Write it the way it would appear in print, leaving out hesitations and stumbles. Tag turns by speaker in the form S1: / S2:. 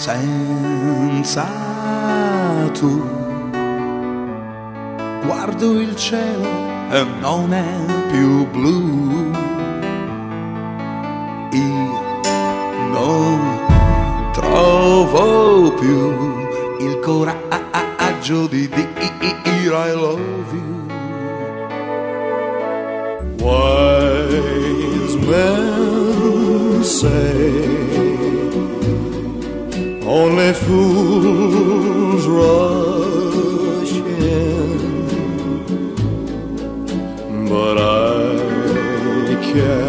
S1: senza tu. Guardo il cielo e non è più blu. Io non trovo più il coraggio di dire I love you. Wise men say only fools rush in, but I can't